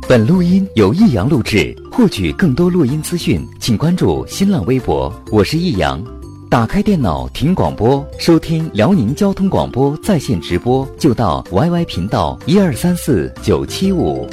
本录音由易阳录制，获取更多录音资讯，请关注新浪微博，我是易阳。打开电脑听广播，收听辽宁交通广播在线直播，就到 YY 频道1234975。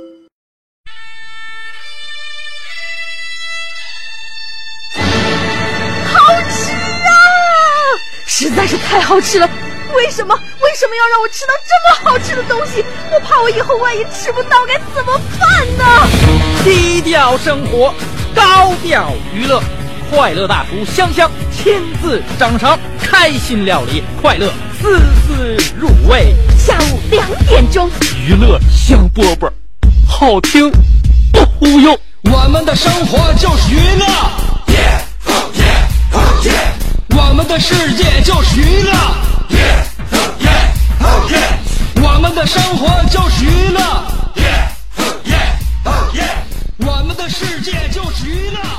好吃啊！实在是太好吃了。为什么要让我吃到这么好吃的东西？我怕我以后万一吃不到该怎么办呢？ 低调生活，高调娱乐，快乐大厨香香亲自掌勺，开心料理，快乐丝丝入味。 下午2点钟， 娱乐香饽饽，好听不忽悠。 我们的生活就是娱乐， yeah, oh yeah, oh yeah. 我们的世界就是娱乐。 Yeah, oh yeah, oh yeah. 我们的生活就是娱乐。 Yeah, oh yeah, oh yeah. 我们的世界就是娱乐。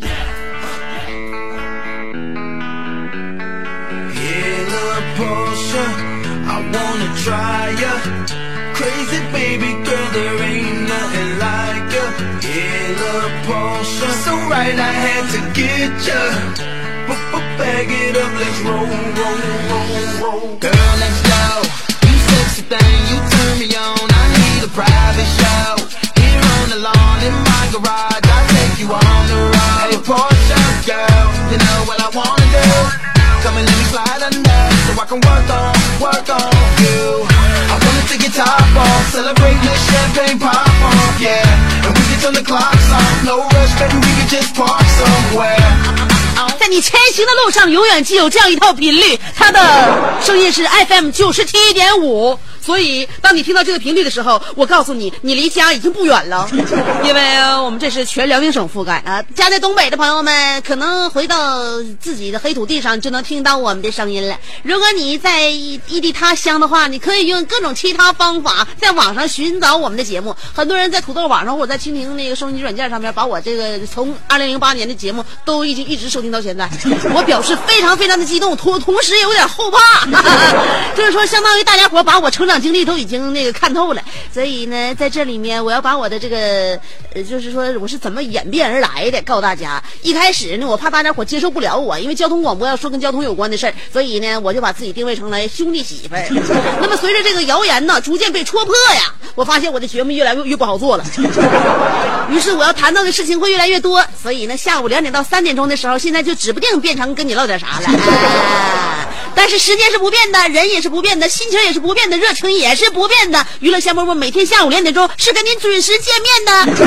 Yellow Porsche, I wanna try ya. Crazy baby girl, there ain't nothing like ya. Yellow Porsche, so right I had to get ya. Bag it up, let's roll, roll, roll, roll. Girl, let's go. You sexy thing, you turn me on. I need a private show. Here on the lawn in my garage, I'll take you on the road. Hey, Porsche girl, you know what I wanna do. Come and let me slide under, so I can work on you. I wanna take your top off, celebrate the champagne pop off, yeah. And we can turn the clocks off, no rush, baby, we can just park somewhere. 在你前行的路上，永远既有这样一套频率，它的声音是 FM 97.5。所以当你听到这个频率的时候，我告诉你，你离家已经不远了，因为我们这是全辽宁省覆盖啊。家在东北的朋友们，可能回到自己的黑土地上就能听到我们的声音了。如果你在异地他乡的话，你可以用各种其他方法在网上寻找我们的节目。很多人在土豆网上或者在蜻蜓那个收音机软件上面，把我这个从2008年的节目都已经一直收听到现在。我表示非常非常的激动，同时也有点后怕，就是说相当于大家伙把我成长经历都已经那个看透了。所以呢，在这里面我要把我的这个就是说我是怎么演变而来的告诉大家。一开始呢，我怕大家伙接受不了我，因为交通广播要说跟交通有关的事儿，所以呢我就把自己定位成了兄弟媳妇儿。那么随着这个谣言呢逐渐被戳破呀，我发现我的节目越来越不好做了，于是我要谈到的事情会越来越多。所以呢，下午2点到3点钟的时候，现在就指不定变成跟你唠点啥了。但是时间是不变的，人也是不变的，心情也是不变的，热情也是不变的。娱乐香饽饽每天下午2点钟是跟您准时见面的。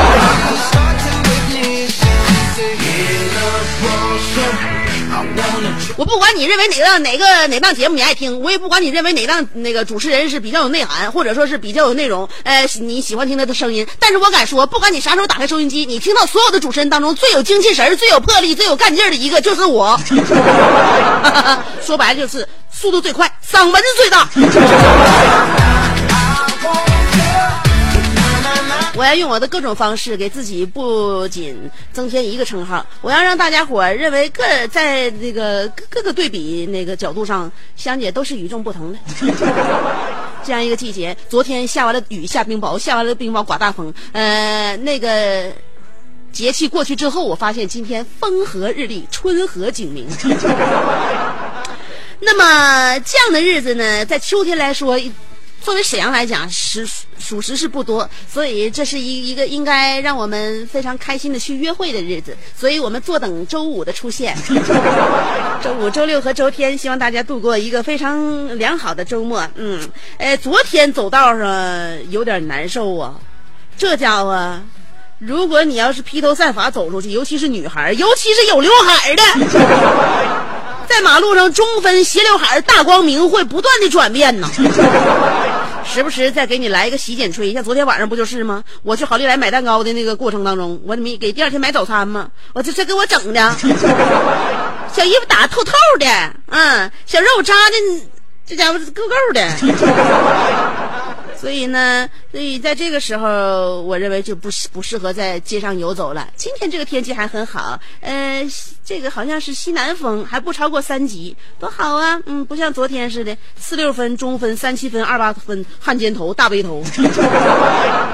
我不管你认为哪档节目你爱听，我也不管你认为哪档那个主持人是比较有内涵，或者说是比较有内容，你喜欢听他的声音。但是我敢说，不管你啥时候打开收音机，你听到所有的主持人当中最有精气神、最有魄力、最有干劲儿的一个就是我。说白了就是速度最快，嗓门子最大。我要用我的各种方式给自己不仅增添一个称号，我要让大家伙认为在那个各个对比那个角度上，香姐都是与众不同的。这样一个季节，昨天下完了雨下冰雹，下完了冰雹刮大风，那个节气过去之后，我发现今天风和日丽，春和景明。那么这样的日子呢，在秋天来说，作为沈阳来讲属实是不多，所以这是一个应该让我们非常开心的去约会的日子，所以我们坐等周五的出现。周五、周六和周天，希望大家度过一个非常良好的周末。昨天走道上有点难受啊，这家伙，如果你要是披头散发走出去，尤其是女孩，尤其是有刘海的。在马路上中分斜刘海大光明会不断的转变呢，时不时再给你来一个洗剪吹，像昨天晚上不就是吗？我去好利来买蛋糕的那个过程当中，我给第二天买早餐嘛，我这给我整的小衣服打透透的，小肉扎的这家伙够够的。所以呢，在这个时候，我认为就不适合在街上游走了。今天这个天气还很好，这个好像是西南风，还不超过3级，多好啊！不像昨天似的，46分、中分、37分、28分、汉奸头、大背头。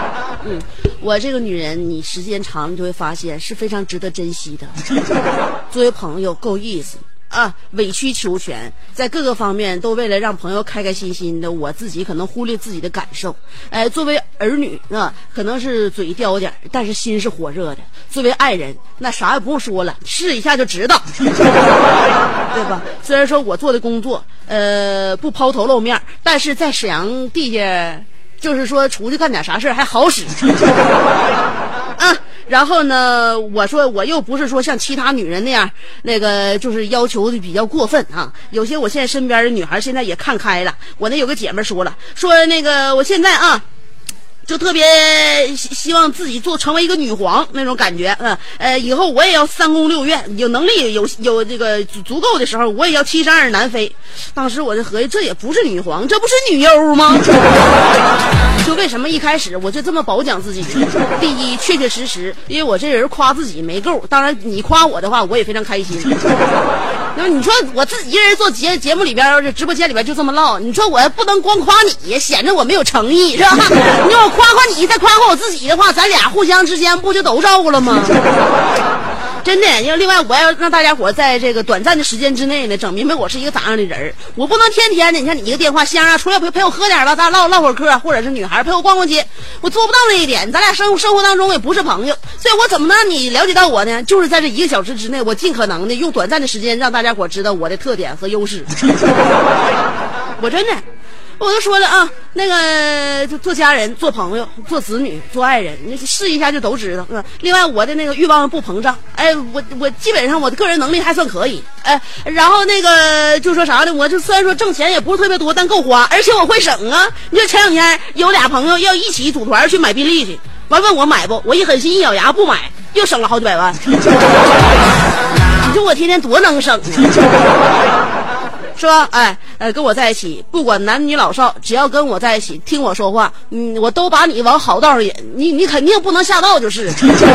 我这个女人，你时间长你就会发现是非常值得珍惜的。作为朋友够意思啊，委曲求全，在各个方面都为了让朋友开开心心的，我自己可能忽略自己的感受。作为儿女啊，可能是嘴刁点，但是心是火热的。作为爱人，那啥也不用说了，试一下就知道，对吧？虽然说我做的工作不抛头露面，但是在沈阳地下，就是说出去干点啥事还好使啊。然后呢，我说我又不是说像其他女人那样，那个就是要求的比较过分啊。有些我现在身边的女孩现在也看开了。我那有个姐妹说了，说那个我现在啊，就特别希望自己成为一个女皇那种感觉，以后我也要3宫6院，有能力有这个足够的时候，我也要72南飞。当时我就合计，这也不是女皇，这不是女优吗？就为什么一开始我就这么褒奖自己？第一，确确实实，因为我这人夸自己没够，当然你夸我的话，我也非常开心。那么你说我自己一人做节目里边，直播间里边就这么唠，你说我不能光夸你，显得我没有诚意，是吧？你说我夸夸你，再夸夸我自己的话，咱俩互相之间不就都照顾了吗？真的，因为另外我要让大家伙在这个短暂的时间之内呢，整明白我是一个咋样的人。我不能天天的，你看你一个电话香啊，出来陪我喝点吧，咱唠会儿嗑，或者是女孩陪我逛逛街，我做不到那一点。咱俩生活当中也不是朋友，所以我怎么能让你了解到我呢？就是在这1个小时之内，我尽可能的用短暂的时间让大家伙知道我的特点和优势。我真的。我都说了啊，那个就做家人、做朋友、做子女、做爱人，你试一下就都知道。另外，我的那个欲望不膨胀，我基本上我的个人能力还算可以，然后那个就说啥呢？我就虽然说挣钱也不是特别多，但够花，而且我会省啊。你说前2天有俩朋友要一起组团去买宾利去，完问我买不，我一狠心一咬牙不买，又省了好几百万。你说我天天多能省啊！是吧？跟我在一起，不管男女老少，只要跟我在一起，听我说话，我都把你往好道上引，你肯定不能下道就是。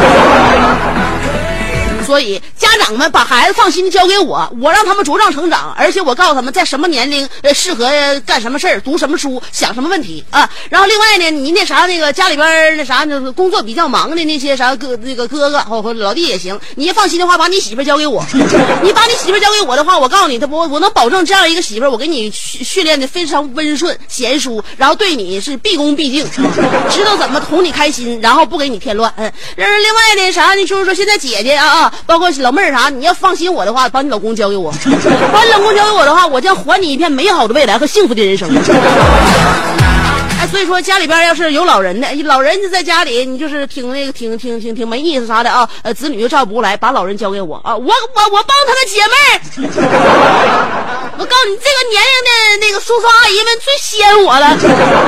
所以家长们把孩子放心交给我，我让他们茁壮成长，而且我告诉他们在什么年龄适合干什么事儿，读什么书，想什么问题啊。然后另外呢，你那啥那个家里边那啥工作比较忙的那些啥哥哥或者老弟也行，你放心的话，把你媳妇交给我。你把你媳妇交给我的话，我告诉你，我能保证这样一个媳妇，我给你训练的非常温顺贤淑，然后对你是毕恭毕敬，知道怎么哄你开心，然后不给你添乱。另外呢啥，你就是说现在姐姐啊。包括老妹儿啥，你要放心我的话，把你老公交给我。把你老公交给我的话，我将还你一片美好的未来和幸福的人生。所以说家里边要是有老人的，老人就在家里，你就是挺没意思啥的啊，子女又照顾不来，把老人交给我啊，我帮他的姐妹儿。我告诉你，这个年龄的那个叔叔阿姨们最仙我了。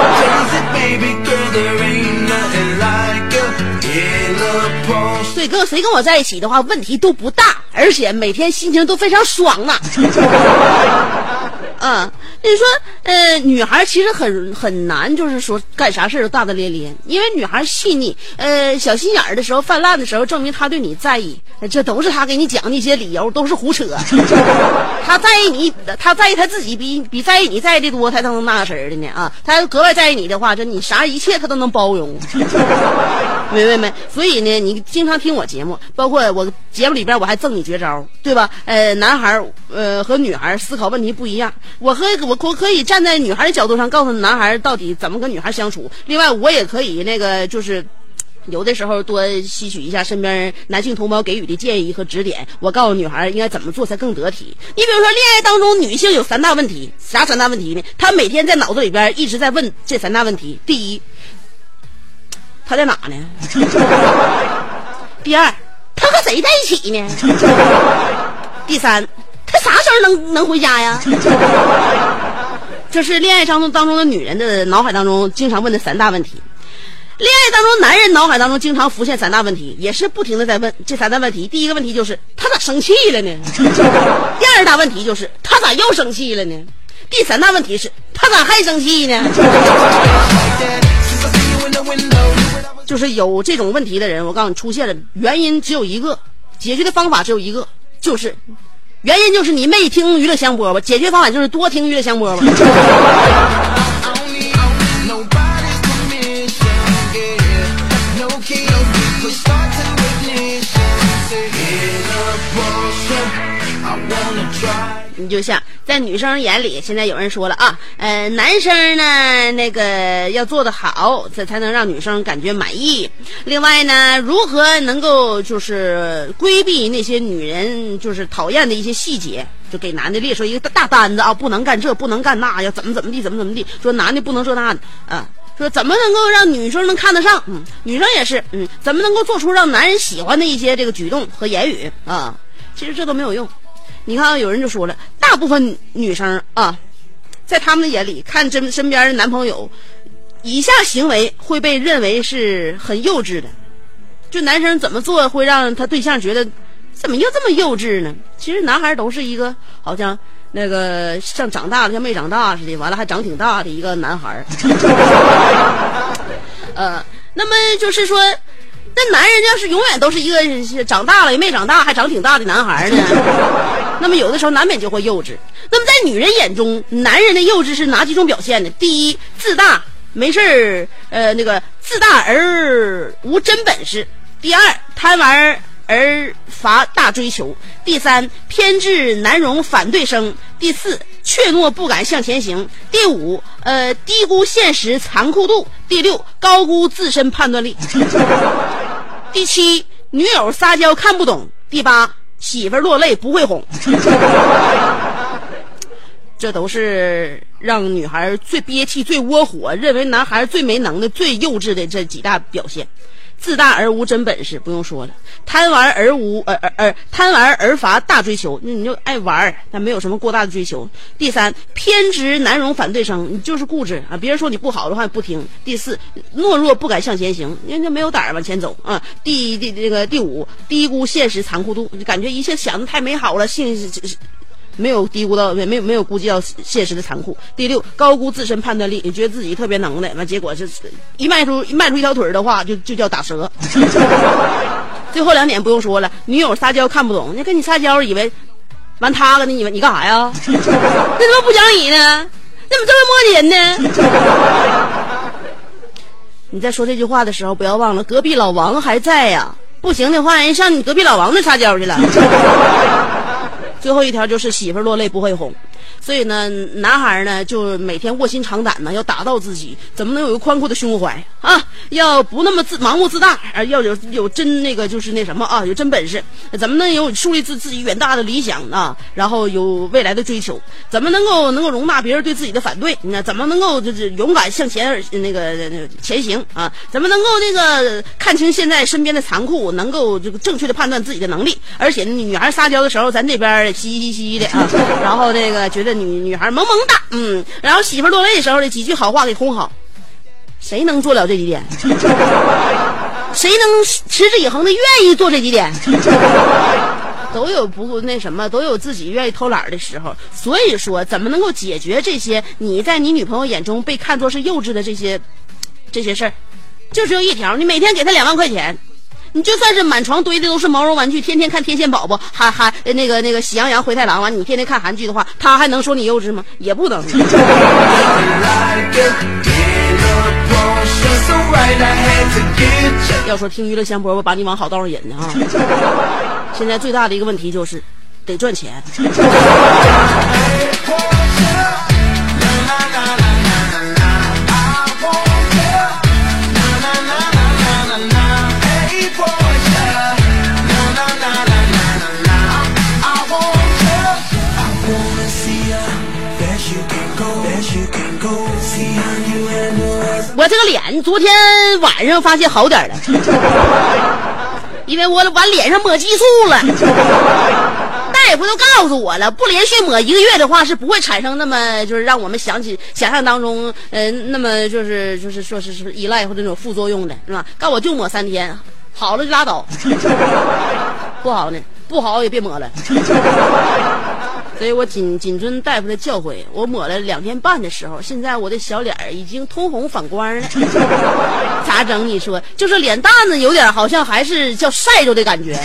所以谁跟我在一起的话，问题都不大，而且每天心情都非常爽啊。你说女孩其实很难，就是说干啥事都大大咧咧，因为女孩细腻，小心眼儿的时候泛滥的时候，证明她对你在意，这都是她给你讲的一些理由，都是胡扯。她在意你，她在意她自己比在意你在意的多，才能那个事儿的呢啊！她格外在意你的话，这你啥一切她都能包容。明白没？所以呢，你经常听我节目，包括我节目里边我还赠你绝招，对吧？男孩和女孩思考问题不一样，我可以站在女孩的角度上告诉男孩到底怎么跟女孩相处。另外，我也可以那个就是有的时候多吸取一下身边男性同胞给予的建议和指点，我告诉女孩应该怎么做才更得体。你比如说恋爱当中女性有3大问题，啥3大问题呢？她每天在脑子里边一直在问这3大问题。第一，他在哪呢？第二，他和谁在一起呢？第三，他啥时候能回家呀？这是恋爱当中的女人的脑海当中经常问的3大问题。恋爱当中男人脑海当中经常浮现3大问题，也是不停的在问这3大问题。第一个问题就是他咋生气了呢？第2大问题就是他咋又生气了呢？第3大问题是他咋还生气呢？就是有这种问题的人，我告诉你，出现了原因只有一个，解决的方法只有一个，就是原因就是你没听娱乐香饽饽，解决方法就是多听娱乐香饽饽。 你就像在女生眼里，现在有人说了啊，男生呢那个要做得好，这才能让女生感觉满意。另外呢，如何能够就是规避那些女人就是讨厌的一些细节，就给男的列出一个大单子啊，不能干这，不能干那，要怎么地，说男的不能说那的啊。说怎么能够让女生能看得上？女生也是，怎么能够做出让男人喜欢的一些这个举动和言语啊？其实这都没有用。你看，有人就说了，大部分女生啊，在他们的眼里，看身边的男朋友，以下行为会被认为是很幼稚的。就男生怎么做会让他对象觉得怎么又这么幼稚呢？其实男孩都是一个好像那个像长大了像没长大似的，完了还长挺大的一个男孩。那么就是说，那男人要是永远都是一个长大了也没长大还长挺大的男孩呢，那么有的时候难免就会幼稚。那么在女人眼中，男人的幼稚是哪几种表现呢？第一，自大，没事那个自大而无真本事。第二，贪玩而乏大追求。第三，偏执难容反对声。第四，怯懦不敢向前行。第五，低估现实残酷度。第六，高估自身判断力。第七，女友撒娇看不懂。第八，媳妇落泪不会哄。这都是让女孩最憋气、最窝火，认为男孩最没能的、最幼稚的这几大表现。自大而无真本事，不用说了；贪玩而乏大追求，你就爱玩，但没有什么过大的追求。第三，偏执难容反对声，你就是固执啊，别人说你不好的话不听。第四，懦弱不敢向前行，人家没有胆往前走啊。第五，低估现实残酷度，就感觉一切想的太美好了，没有低估到没有估计到现实的残酷。第六，高估自身判断力，你觉得自己特别能耐，完结果是一迈出一条腿的话就叫打折。最后两点不用说了，女友撒娇看不懂，你跟你撒娇以为完他跟你干啥呀？那怎么不讲理呢？怎么这么磨叽人呢？你在说这句话的时候不要忘了隔壁老王还在呀，不行的话人上你隔壁老王那撒娇去了。最后一条就是媳妇落泪不会哄，所以呢，男孩呢就每天卧薪尝胆呢，要打造自己，怎么能有一个宽阔的胸怀啊？要不那么盲目自大，要有真那个就是那什么啊，有真本事，怎么能有树立自己远大的理想啊？然后有未来的追求，怎么能够容纳别人对自己的反对？那怎么能够就是勇敢向前那个前行啊？怎么能够那个看清现在身边的残酷，能够这个正确的判断自己的能力？而且女孩撒娇的时候，咱这边嘻嘻的啊，然后这个觉得女孩萌萌哒，然后媳妇落泪的时候呢，几句好话给哄好。谁能做了这几点？谁能持之以恒的愿意做这几点？都有不那什么，都有自己愿意偷懒的时候。所以说，怎么能够解决这些你在你女朋友眼中被看作是幼稚的这些事儿？就只有一条，你每天给她2万块钱。你就算是满床堆的都是毛绒玩具，天天看天线宝宝，还那个喜羊羊灰太狼完，你天天看韩剧的话，他还能说你幼稚吗？也不能。要说听娱乐香饽饽把你往好道上引的啊，现在最大的一个问题就是得赚钱。我这个脸昨天晚上发现好点了，因为我往脸上抹激素了。大夫都告诉我了，不连续抹1个月的话是不会产生那么就是让我们想象当中那么就是说是依赖或者那种副作用的，是吧？告我就抹3天，好了就拉倒，不好呢，不好也别抹了。所以我谨遵大夫的教诲，我抹了2天半的时候，现在我的小脸已经通红反光了。咋整？你说，就是脸蛋子有点好像还是叫晒着的感觉，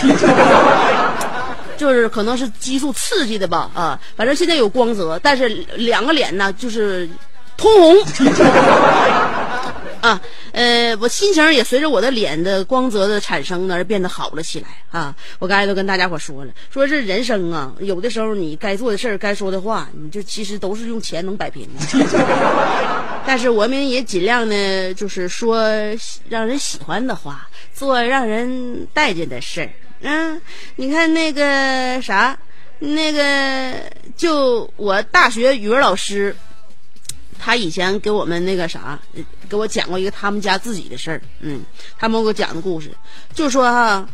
就是可能是激素刺激的吧啊，反正现在有光泽，但是2个脸呢就是通红。 啊，我心情也随着我的脸的光泽的产生呢而变得好了起来啊！我刚才都跟大家伙说了，说这人生啊，有的时候你该做的事儿、该说的话，你就其实都是用钱能摆平的。但是我们也尽量呢，就是说让人喜欢的话，做让人待见的事儿。你看那个啥，那个就我大学语文老师。他以前给我们那个啥，给我讲过一个他们家自己的事儿。他们给我讲的故事，就说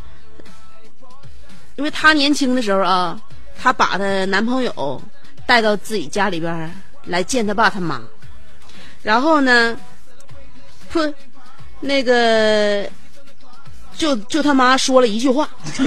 因为他年轻的时候啊，他把他男朋友带到自己家里边来见他爸他妈，然后呢，那个就他妈说了一句话，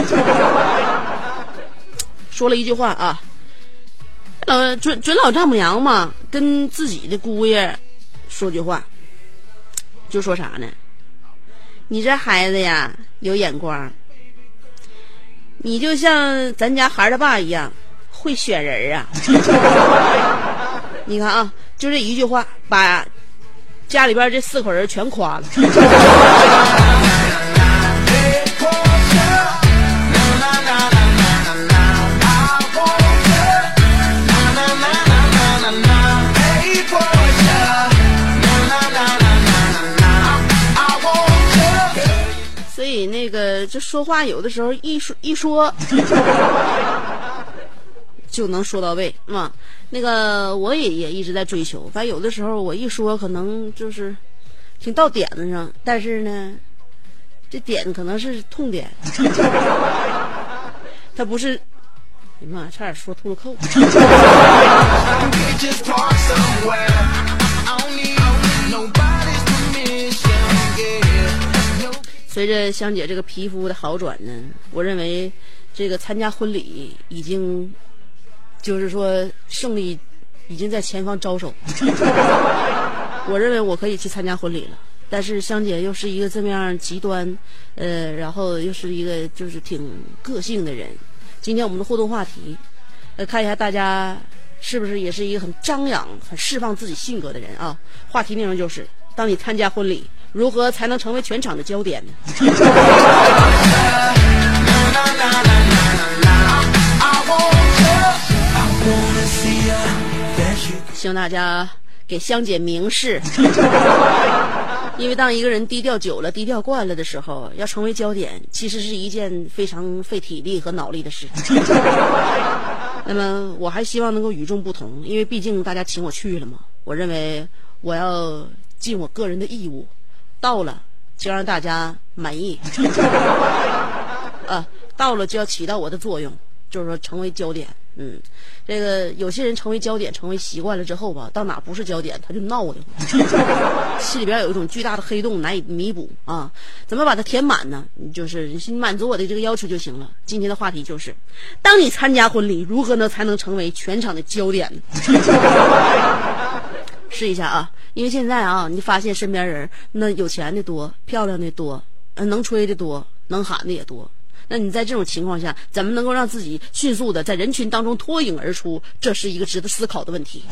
说了一句话啊。准老丈母娘嘛，跟自己的姑爷说句话，就说啥呢？你这孩子呀，有眼光，你就像咱家孩儿的爸一样，会选人啊。你看啊，就这一句话，把家里边这4口人全夸了。所以那个这说话有的时候一说就能说到位嘛。那个我也一直在追求，反正有的时候我一说可能就是挺到点子上，但是呢这点可能是痛点。它不是，哎妈，差点说秃噜扣。随着香姐这个皮肤的好转呢，我认为这个参加婚礼已经就是说胜利已经在前方招手。我认为我可以去参加婚礼了，但是香姐又是一个这么样极端然后又是一个就是挺个性的人。今天我们的互动话题看一下大家是不是也是一个很张扬很释放自己性格的人啊。话题内容就是当你参加婚礼，如何才能成为全场的焦点呢？希望大家给香姐明示。因为当一个人低调久了、低调惯了的时候，要成为焦点，其实是一件非常费体力和脑力的事。那么我还希望能够与众不同，因为毕竟大家请我去了嘛，我认为我要尽我个人的义务，到了就让大家满意。到了就要起到我的作用，就是说成为焦点。这个有些人成为焦点成为习惯了之后吧，到哪不是焦点他就闹的，心里边有一种巨大的黑洞难以弥补啊！怎么把它填满呢？就是满足我的这个要求就行了。今天的话题就是，当你参加婚礼，如何呢才能成为全场的焦点呢？试一下啊！因为现在啊，你发现身边人那有钱的多，漂亮的多，能吹的多，能喊的也多。那你在这种情况下，怎么能够让自己迅速的在人群当中脱颖而出？这是一个值得思考的问题。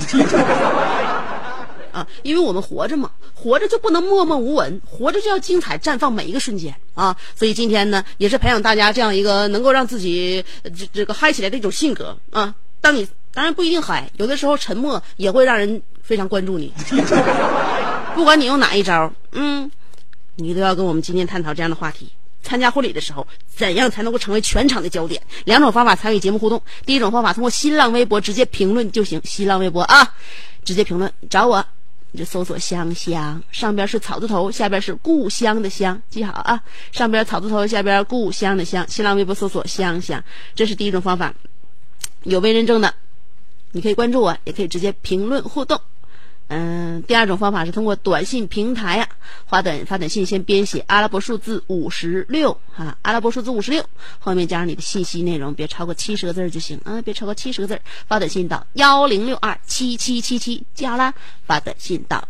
因为我们活着嘛，活着就不能默默无闻，活着就要精彩绽放每一个瞬间啊！所以今天呢，也是培养大家这样一个能够让自己这个嗨起来的一种性格啊。当然不一定嗨，有的时候沉默也会让人非常关注你。不管你用哪一招，你都要跟我们今天探讨这样的话题。参加婚礼的时候，怎样才能够成为全场的焦点？2种方法参与节目互动。第一种方法通过新浪微博直接评论就行，新浪微博直接评论找我，你就搜索香香，上边是草字头，下边是故乡的乡，记好啊，上边草字头，下边故乡的乡，新浪微博搜索香香，这是第一种方法。有未认证的你可以关注我，也可以直接评论互动。第二种方法是通过短信平台发短信，先编写阿拉伯数字56阿拉伯数字56，后面加上你的信息内容，别超过70个字就行别超过70个字。发短信到10627777，记好啦，发短信到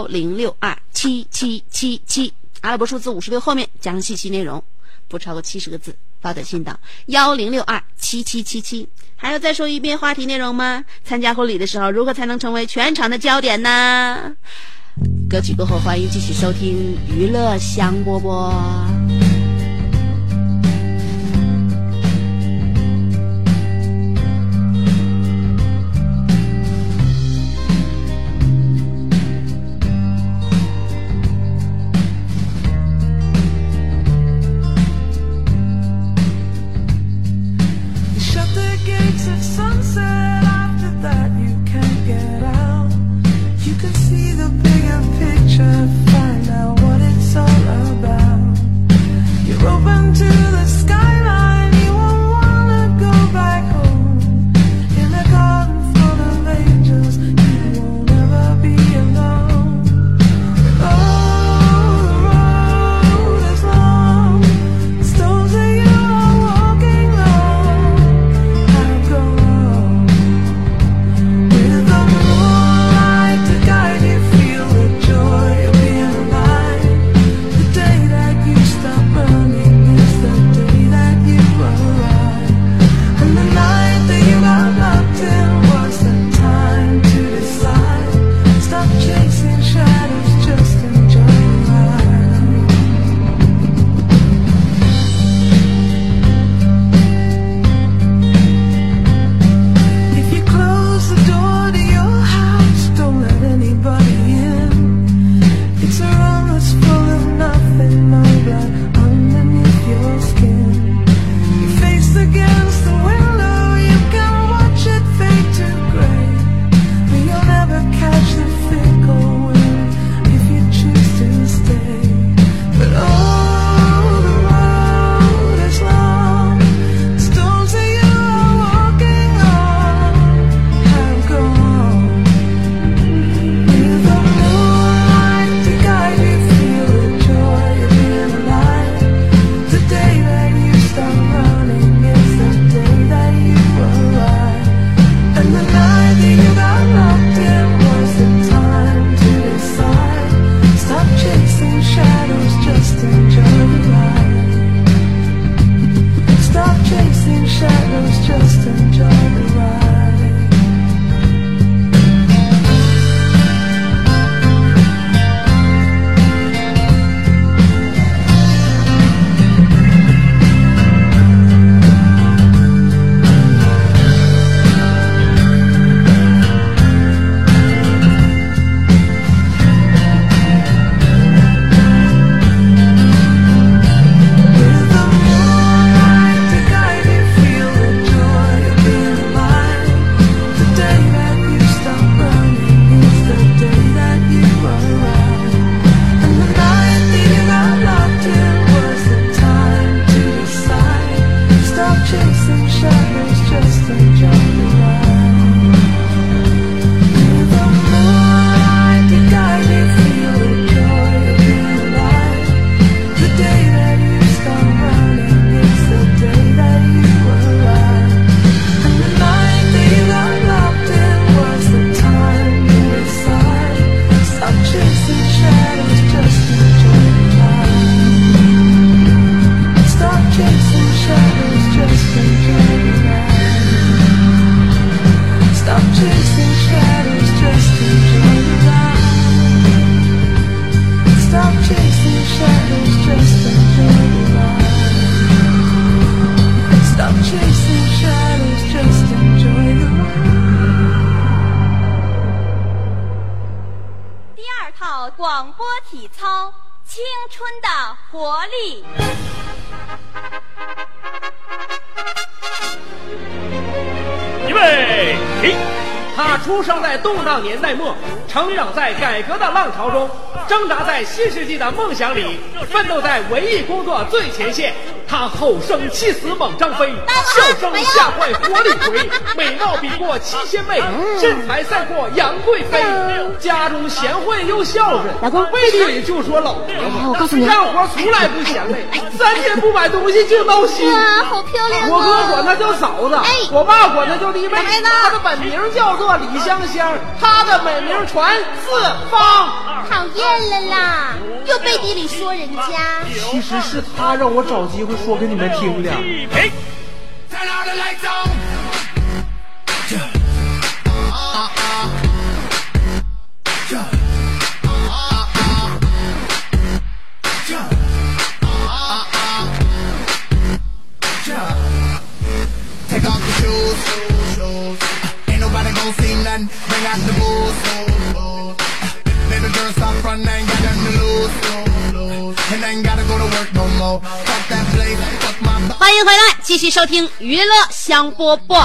10627777，阿拉伯数字56后面加上信息内容，不超过70个字。发短信到10627777。还要再说一遍话题内容吗？参加婚礼的时候，如何才能成为全场的焦点呢？ 歌曲过后，欢迎继续收听娱乐香饽饽。 广播体操，青春的活力。 预备起！他出生在动荡年代末，成长在改革的浪潮中，挣扎在新世纪的梦想里，奋斗在文艺工作最前线。他吼声气死猛张飞，笑声吓坏活李逵，美貌比过七仙妹，身材赛过杨贵妃。家中贤惠又孝顺， 老公背地里就说老婆子， 我告诉你， 干活从来不嫌累，3天不买东西就闹心。 哇，好漂亮！ 我哥管她叫嫂子，我爸管她叫弟妹。她的本名叫做李香香，她的美名传四方。 讨厌了啦，又背地里说人家。 其实是他让我找机会说给你们听的。 欢迎回来，继续收听娱乐香饽饽。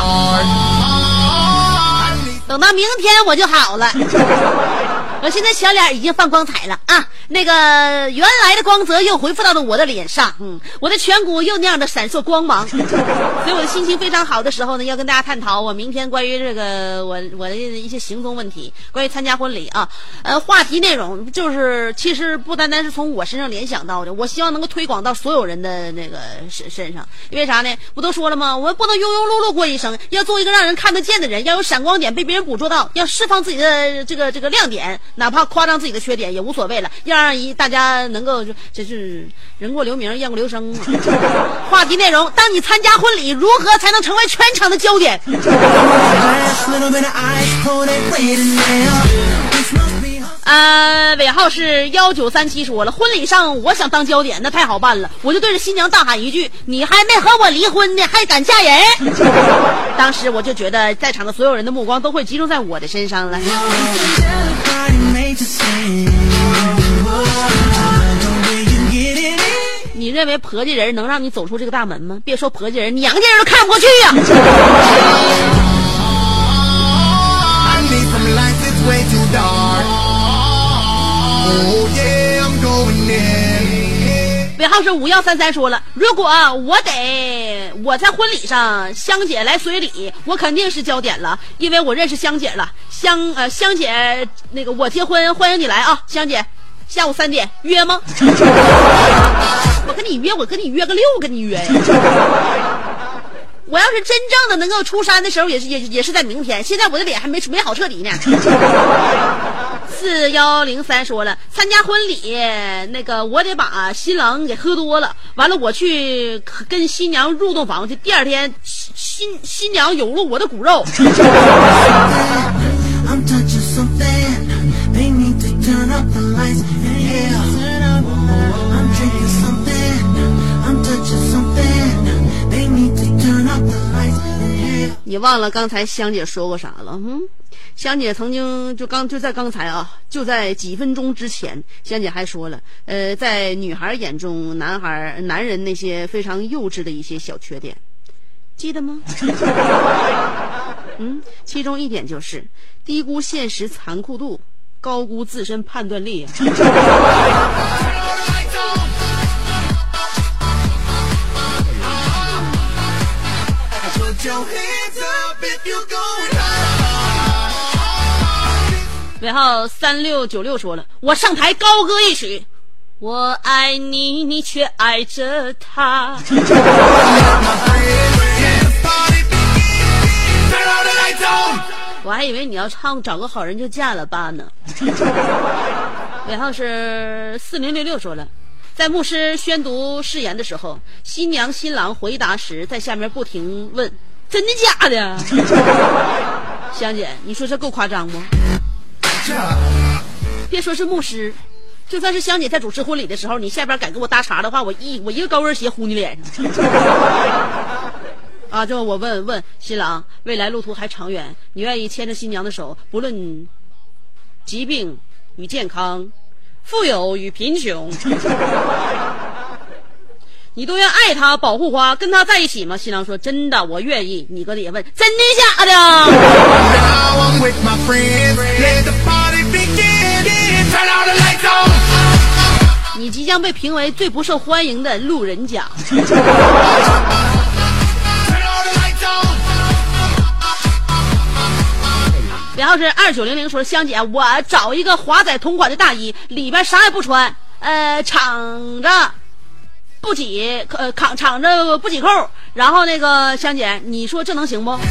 等到明天我就好了。我现在小脸已经放光彩了啊，那个原来的光泽又恢复到了我的脸上，我的颧骨又那样的闪烁光芒，所以我的心情非常好的时候呢，要跟大家探讨我明天关于这个我的一些行踪问题，关于参加婚礼啊，话题内容就是其实不单单是从我身上联想到的，我希望能够推广到所有人的那个身上，因为啥呢？不都说了吗？我们不能庸庸碌碌过一生，要做一个让人看得见的人，要有闪光点被别人捕捉到，要释放自己的这个亮点。哪怕夸张自己的缺点也无所谓了，要让大家能够这是人过留名雁过留声嘛。话题内容：当你参加婚礼，如何才能成为全场的焦点？尾号是1937说了，婚礼上我想当焦点，那太好办了，我就对着新娘大喊一句：你还没和我离婚呢，还敢嫁人？当时我就觉得在场的所有人的目光都会集中在我的身上了。你认为婆家人能让你走出这个大门吗？别说婆家人，娘家人都看不过去呀。尾号是5133说了，如果我在婚礼上香姐来随礼，我肯定是焦点了，因为我认识香姐了。香姐，那个我结婚欢迎你来啊，香姐，下午3点约吗？我跟你约个6，跟你约呀。我要是真正的能够出山的时候，也是在明天。现在我的脸还没好彻底呢。4103说了，参加婚礼那个我得把新郎给喝多了，完了我去跟新娘入洞房去，第二天新娘有了我的骨肉。你忘了刚才香姐说过啥了？香姐曾经就在刚才啊，就在几分钟之前，香姐还说了，在女孩眼中，男人那些非常幼稚的一些小缺点，记得吗？其中一点就是低估现实残酷度，高估自身判断力。尾号3696说了，我上台高歌一曲，我爱你，你却爱着他。我还以为你要唱找个好人就嫁了吧呢。尾号是4066说了，在牧师宣读誓言的时候，新娘新郎回答时在下面不停问，真的假的？香姐，你说这够夸张不？别说是牧师，就算是香姐在主持婚礼的时候，你下边敢给我搭茬的话，我一个高跟鞋呼你脸上。啊，这我问新郎，未来路途还长远，你愿意牵着新娘的手，不论疾病与健康，富有与贫穷，你都愿爱他，保护他，跟他在一起吗？新郎说真的，我愿意。你哥也问真的假的？你即将被评为最不受欢迎的路人甲。然后是2900说，香姐，我找一个华仔同款的大衣，里边啥也不穿，敞着不挤扣，然后那个香姐，你说这能行不？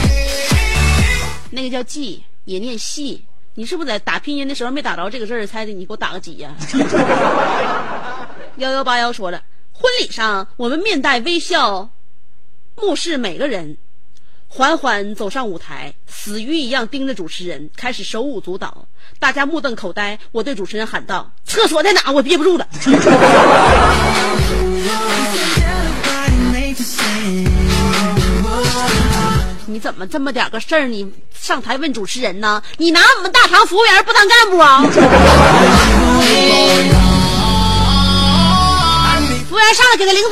那个叫记，也念细，你是不是在打拼音的时候没打着这个字儿，猜的你给我打个几呀？1181说了，婚礼上我们面带微笑，目视每个人，缓缓走上舞台，死鱼一样盯着主持人，开始手舞足蹈，大家目瞪口呆。我对主持人喊道：“厕所在哪？我憋不住了。”你怎么这么点个事儿，你上台问主持人呢？你拿我们大堂服务员不当干部啊？ 上来给他领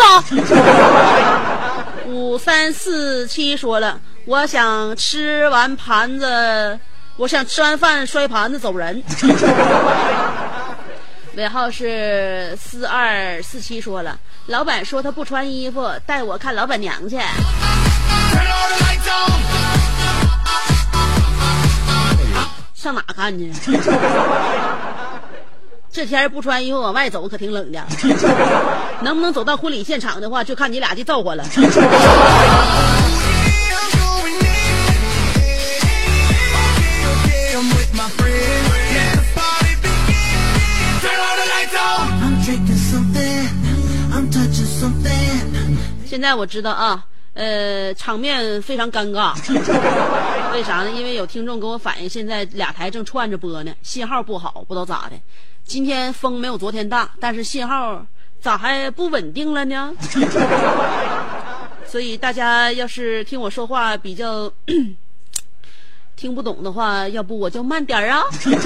走。5347说了，我想吃完饭摔盘子走人。尾号是4247说了，老板说他不穿衣服，带我看老板娘去。上哪看去？这天不穿衣服往外走可挺冷的。能不能走到婚礼现场的话，就看你俩去造化了。现在我知道啊，场面非常尴尬。为啥呢？因为有听众给我反映，现在俩台正串着播呢，信号不好，不知道咋的。今天风没有昨天大，但是信号咋还不稳定了呢？所以大家要是听我说话比较听不懂的话，要不我就慢点啊。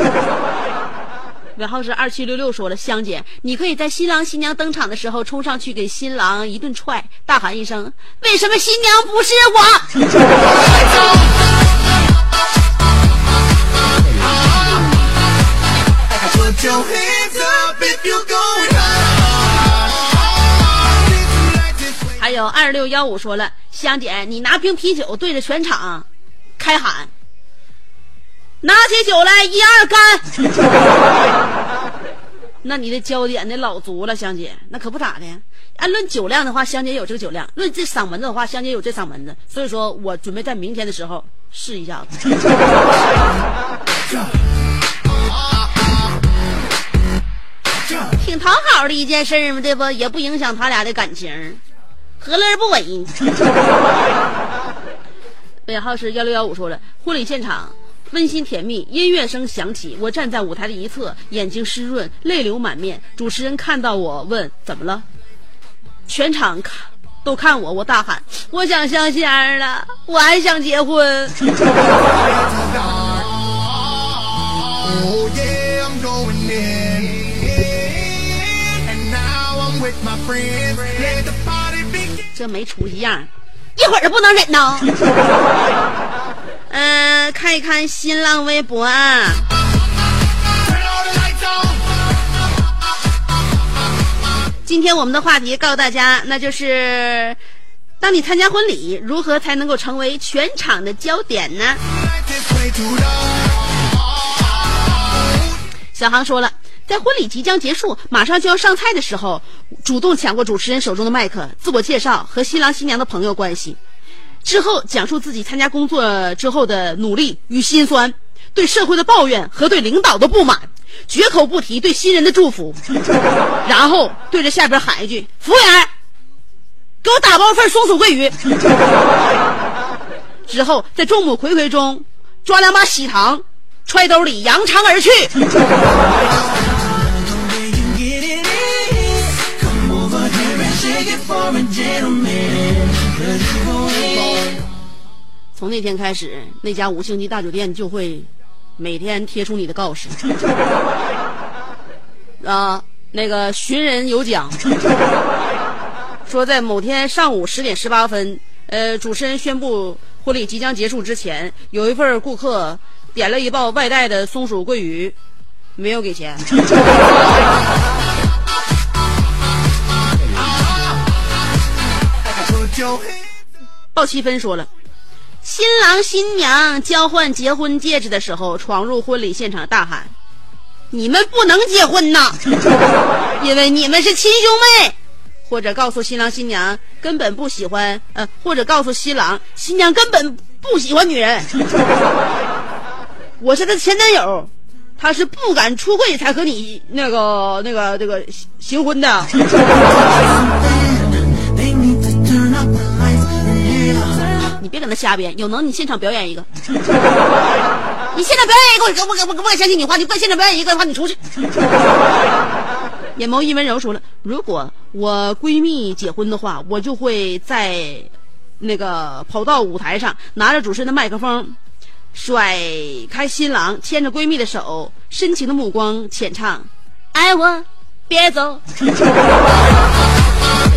尾号是2766说了，香姐，你可以在新郎新娘登场的时候冲上去给新郎一顿踹，大喊一声，为什么新娘不是我？还有2615说了，香姐，你拿瓶啤酒对着全场开喊，拿起酒来，1、2干。那你的焦点得老足了，香姐，那可不咋的。按论酒量的话，香姐有这个酒量；论这嗓门子的话，香姐有这嗓门子。所以说我准备在明天的时候试一下子。挺讨好的一件事嘛，对不？也不影响他俩的感情，何乐而不为？尾号是1615说了，婚礼现场温馨甜蜜，音乐声响起，我站在舞台的一侧，眼睛湿润，泪流满面。主持人看到我问怎么了，全场都看我，我大喊，我想上香了，我还想结婚。这没出息样，一会儿不能忍呢。看一看新浪微博啊。今天我们的话题告诉大家，那就是当你参加婚礼，如何才能够成为全场的焦点呢？小航说了，在婚礼即将结束，马上就要上菜的时候，主动抢过主持人手中的麦克，自我介绍和新郎新娘的朋友关系，之后讲述自己参加工作之后的努力与辛酸，对社会的抱怨和对领导的不满，绝口不提对新人的祝福，然后对着下边喊一句，服务员给我打包份松鼠桂鱼。之后在众目睽睽中抓2把喜糖揣兜里扬长而去。从那天开始，那家5星级大酒店就会每天贴出你的告示那个寻人有奖，说在某天上午10点18分，主持人宣布婚礼即将结束之前，有一份顾客点了一包外带的松鼠桂鱼，没有给钱。鲍七分说了，新郎新娘交换结婚戒指的时候，闯入婚礼现场大喊，你们不能结婚呐，因为你们是亲兄妹。或者告诉新郎新娘根本不喜欢或者告诉新郎新娘根本不喜欢女人。我是他前男友，他是不敢出柜才和你那个行婚的。你别跟他瞎编，有能你现场表演一个。你现场表演一个，我不敢相信你话，你不敢现场表演一个的话，你出去。眼眸一温柔说了，如果我闺蜜结婚的话，我就会在那个跑道舞台上拿着主持人的麦克风，甩开新郎，牵着闺蜜的手，深情的目光浅唱，爱我别走。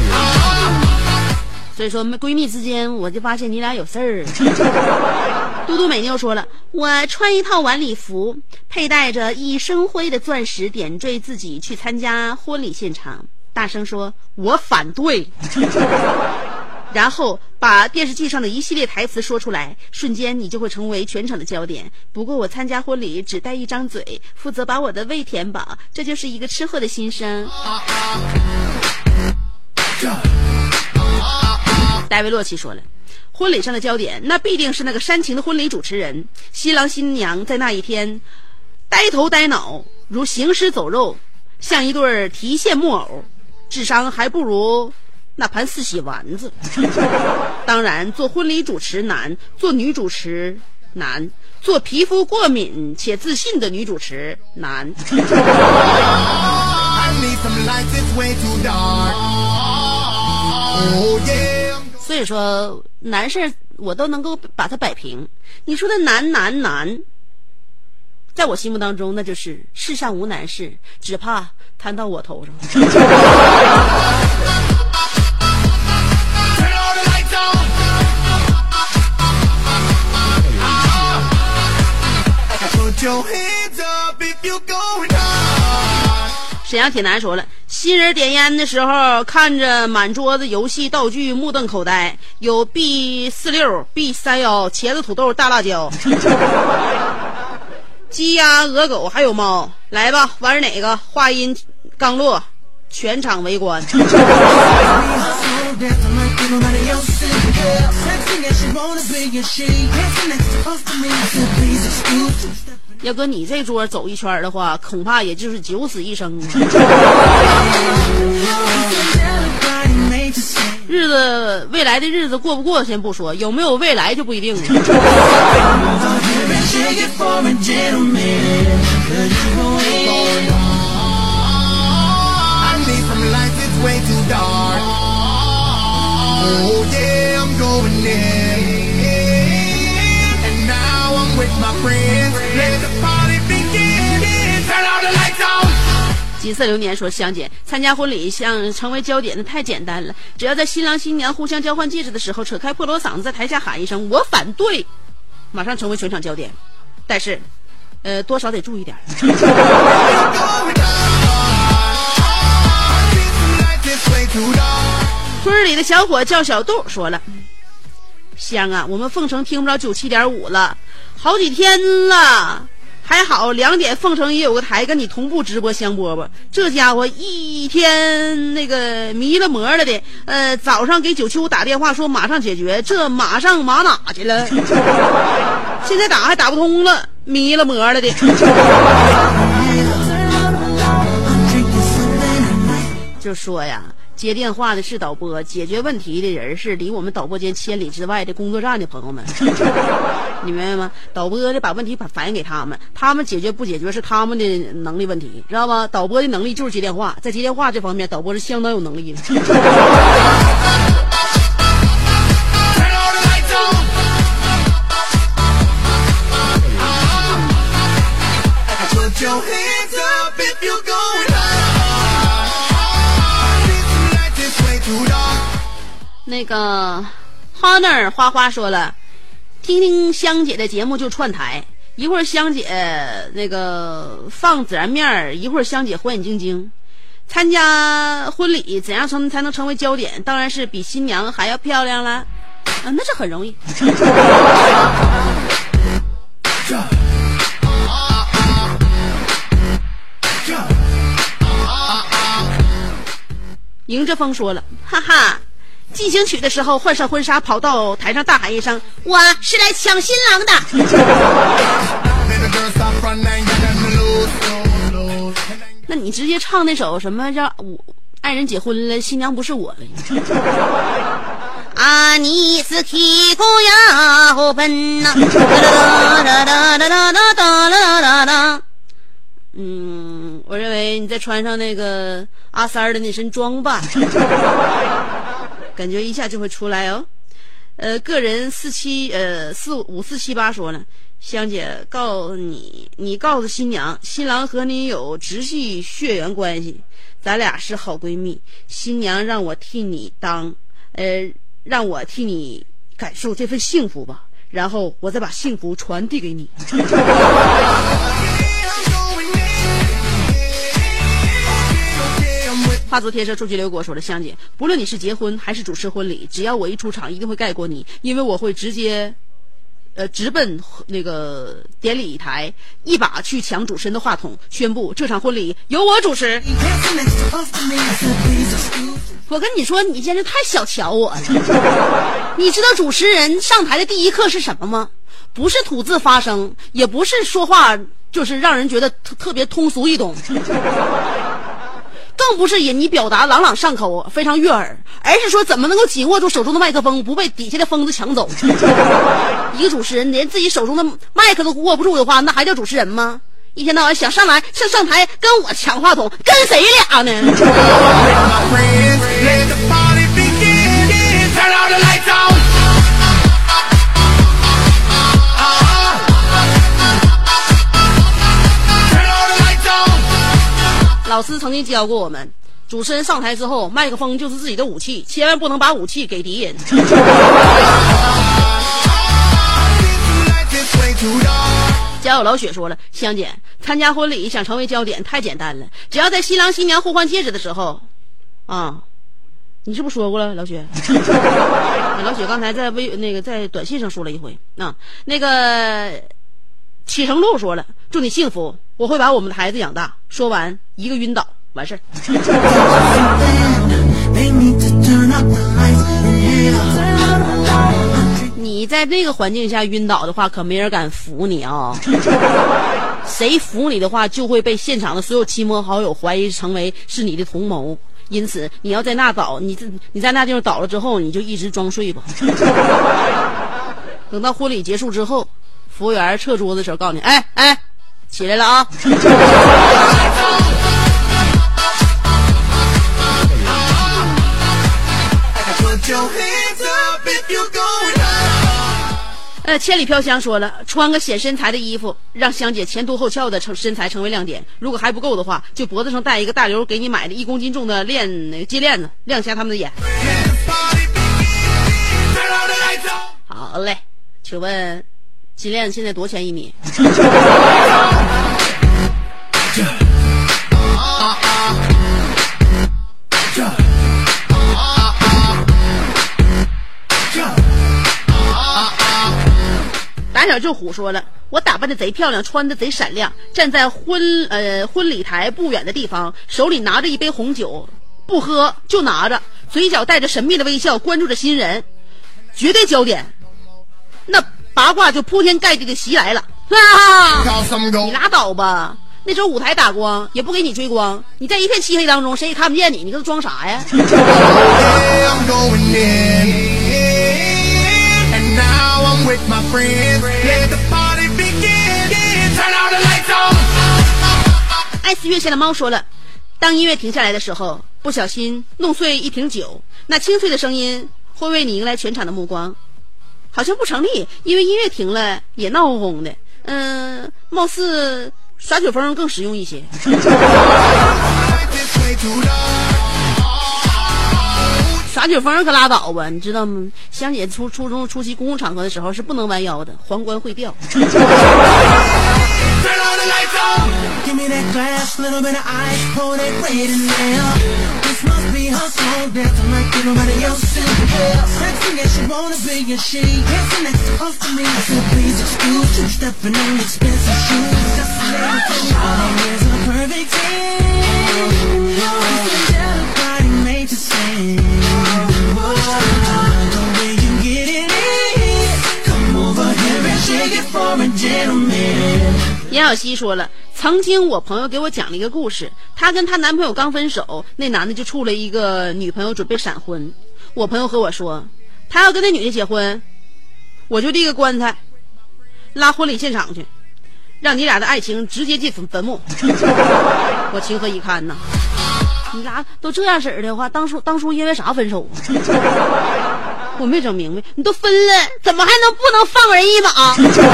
以说闺蜜之间我就发现你俩有事儿。嘟嘟美妞说了，我穿一套晚礼服，佩戴着一生辉的钻石，点缀自己去参加婚礼现场，大声说我反对。然后把电视剧上的一系列台词说出来，瞬间你就会成为全场的焦点。不过我参加婚礼只带一张嘴，负责把我的胃填饱，这就是一个吃货的心声。戴维洛奇说了，婚礼上的焦点那必定是那个煽情的婚礼主持人，新郎新娘在那一天呆头呆脑，如行尸走肉，像一对提线木偶，智商还不如那盘四喜丸子。当然做婚礼主持难，做女主持难，做皮肤过敏且自信的女主持难。所以说难事我都能够把它摆平，你说的难，在我心目当中那就是世上无难事，只怕摊到我头上。沈阳铁男说了，新人点烟的时候看着满桌子游戏道具目瞪口呆，有 B46、B31、茄子土豆大辣椒鸡鸭鹅狗还有猫，来吧玩哪个？话音刚落，全场围观。要搁你这桌走一圈的话，恐怕也就是九死一生。未来的日子过不过先不说，有没有未来就不一定了。金色流年说，香姐参加婚礼想成为焦点的太简单了，只要在新郎新娘互相交换戒指的时候扯开破锣嗓子在台下喊一声我反对，马上成为全场焦点。但是多少得注意点。村里的小伙叫小豆说了，香啊，我们凤城听不着97.5了好几天了，还好2点凤城也有个台跟你同步直播香饽饽，这家伙一天那个迷了魔了的，早上给九秋打电话说马上解决，这马上马哪去了？现在打还打不通了，迷了魔了的。就说呀，接电话的是导播，解决问题的人是离我们导播间千里之外的工作站的朋友们。你明白吗？导播的把问题反映给他们，他们解决不解决是他们的能力问题，知道吗？导播的能力就是接电话，在接电话这方面导播是相当有能力的。那个 Honor 花花说了，听听香姐的节目就串台，一会儿香姐那个放孜然面，一会儿香姐火眼金睛。参加婚礼怎样才能成为焦点？当然是比新娘还要漂亮了。那这很容易。迎着风说了，哈哈，进行曲的时候换上婚纱跑到台上大喊一声，我是来抢新郎的。那你直接唱那首什么叫我爱人结婚了新娘不是我了。啊你是提过呀后奔呐。我认为你再穿上那个阿三儿的那身装扮，感觉一下就会出来哦。个人45478说了，香姐告诉你，你告诉新娘，新郎和你有直系血缘关系，咱俩是好闺蜜，新娘让我替你当让我替你感受这份幸福吧，然后我再把幸福传递给你。化作天生出去刘果说了，香姐，不论你是结婚还是主持婚礼，只要我一出场一定会盖过你，因为我会直奔那个典礼台，一把去抢主持人的话筒，宣布这场婚礼由我主持。我跟你说，你简直太小瞧我了。你知道主持人上台的第一课是什么吗？不是吐字发声，也不是说话就是让人觉得特别通俗易懂，更不是引你表达朗朗上口非常悦耳，而是说怎么能够紧握住手中的麦克风不被底下的疯子抢走。一个主持人连自己手中的麦克都握不住的话，那还叫主持人吗？一天到晚想上台跟我抢话筒，跟谁俩呢？老师曾经教过我们，主持人上台之后，麦克风就是自己的武器，千万不能把武器给敌人。家有老雪说了，香姐，参加婚礼想成为焦点太简单了，只要在新郎新娘互换戒指的时候你是不是说过了，老雪？老雪刚才在在短信上说了一回那个启程路说了，祝你幸福，我会把我们的孩子养大。说完一个晕倒，完事儿。你在那个环境下晕倒的话，可没人敢扶你啊！谁扶你的话，就会被现场的所有亲朋好友怀疑成为是你的同谋。因此，你要在那倒，你在那地方倒了之后，你就一直装睡吧。等到婚礼结束之后，服务员撤桌子的时候，告诉你，哎，起来了啊！千里飘香说了，穿个显身材的衣服，让香姐前凸后翘的身材成为亮点。如果还不够的话，就脖子上戴一个大刘给你买的1公斤重的金链子，亮瞎他们的眼。好嘞，请问金链子现在多钱1米？打小就虎说了，我打扮的贼漂亮，穿的贼闪亮，站在婚礼台不远的地方，手里拿着一杯红酒，不喝就拿着，嘴角带着神秘的微笑，关注着新人，绝对焦点。那八卦就铺天盖地的袭来了你拉倒吧，那时候舞台打光也不给你追光，你在一片漆黑当中，谁也看不见你，你搁这装啥呀？爱思月线的猫说了，当音乐停下来的时候，不小心弄碎一瓶酒，那清脆的声音会为你迎来全场的目光。好像不成立，因为音乐停了也闹哄哄的。貌似耍酒疯更实用一些。耍酒疯可拉倒吧，你知道吗？香姐初中出席公共场合的时候是不能弯腰的，皇冠会掉。严小希说了，曾经我朋友给我讲了一个故事，她跟她男朋友刚分手，那男的就处了一个女朋友准备闪婚。我朋友和我说，他要跟那女的结婚，我就立个棺材拉婚礼现场去，让你俩的爱情直接进坟墓。我情何以堪呐！你俩都这样式儿的话，当初因为啥分手？我没整明白，你都分了，怎么还不能放人一马？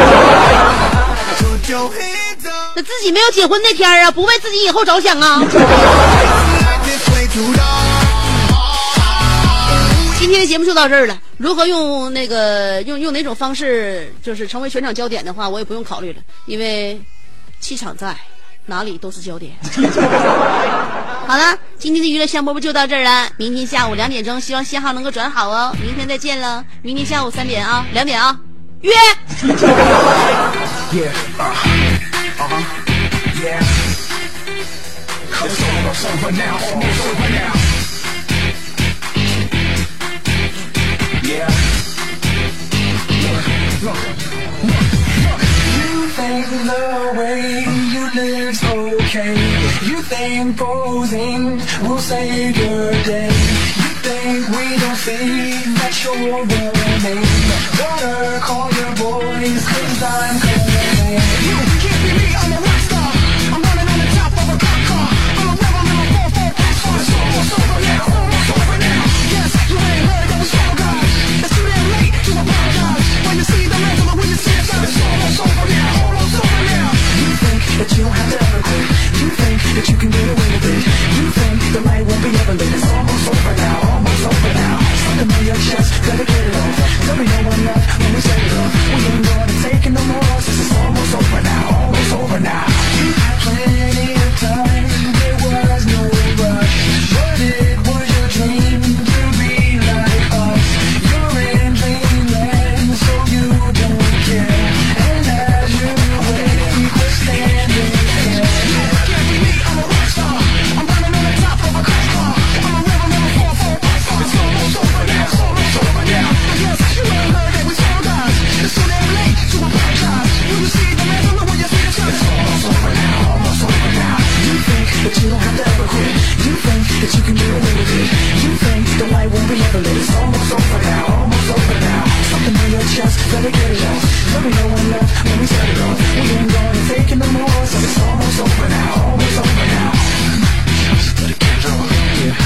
那自己没有结婚那天啊，不为自己以后着想啊！今天的节目就到这儿了。如何用那个用哪种方式就是成为全场焦点的话，我也不用考虑了，因为气场在哪里都是焦点。好了，今天的娱乐香饽饽就到这儿了。明天下午2点钟，希望信号能够转好哦。明天再见了，明天下午3点啊，2点啊，约。 You think the way you live's okay. You think posing will save your day. You think we don't see that you're running. Better call your boys, 'cause I'm coming. You can't be me, I'm a rock star. I'm running on the top of a cop car. I'm a rebel in a 4-4 fast car. It's almost over now, almost over now. Yes, you ain't heard that we saw God. It's too damn late to apologize. When you see the legend, when you see it, it's almost over now, almost over now. You think that you don't have to ever quit. You think that you can get away with it. You think the light won't be ever lit. It's almost over now, almost over now. Something on your chest, better get it off. There'll be no one left when we set it off. We ain't gonna take it no more, since it's almost over now, almost over now. You had plenty of time, there was no rush. But it was your dream to be like us. You're in dreamland, so you don't care. And as you wait, we're standing here. Can't be me, I'm a rock star. I'm running on the top of a cop car. I'm a rebel in a 4-4 fast car. It's almost over now, it's almost over now. I guess you ain't heard that we saw God. It's too damn late to apologize. When you see the man, when you see the sun, it's almost over now, almost over now. You think that you don't have to ever quit. You think that you can get away with it. You think the light won't be ever lit. It's almost over now, almost over now. Something on your chest, better get it off. There'll be no one left when we set it off. We ain't gonna take it no more, so it's almost over now, almost over now. Let it get on, yeah.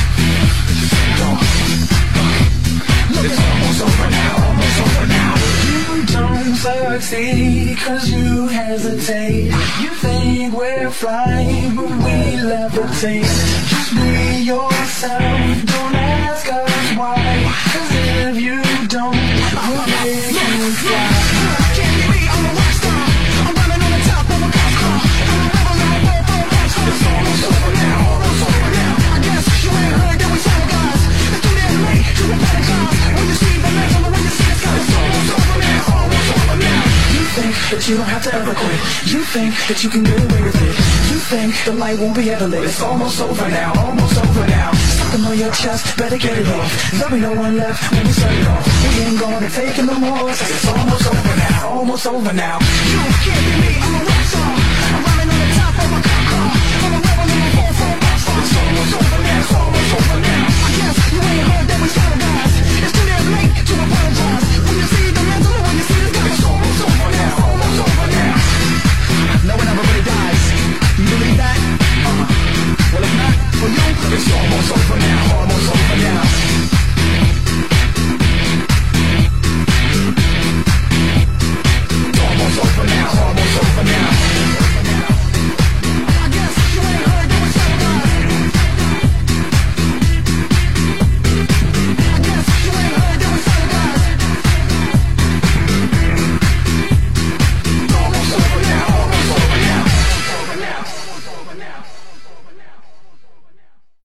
Look, it's almost over now, almost over now. You don't succeed, 'cause you hesitate. You think we're flying, but we levitate. Just be yourself, don't ask us why. 'Cause if you don't, we'll make you fly. Can't be me, I'm a rock star. I'm running on the top of a cop car. I'm a rebel in a 4-4 fast car. It's almost over now, almost over now. I guess you ain't heard that we saw guys. It's too damn late to apologize. When you see the legend, when you see the sky, it's almost over now, almost over now. You think that you don't have to ever quit. You think that you can get away with it. You think the light won't be ever lit. It's almost over now, almost over now. Something on your chest, better get it off. There'll be no one left when we set it off. We ain't gonna take it no more, since it's almost over now, almost over now. You can't be me, I'm a rock star. I'm running on the top of a cop car. I'm a rebel in a 4-4 fast car. It's almost over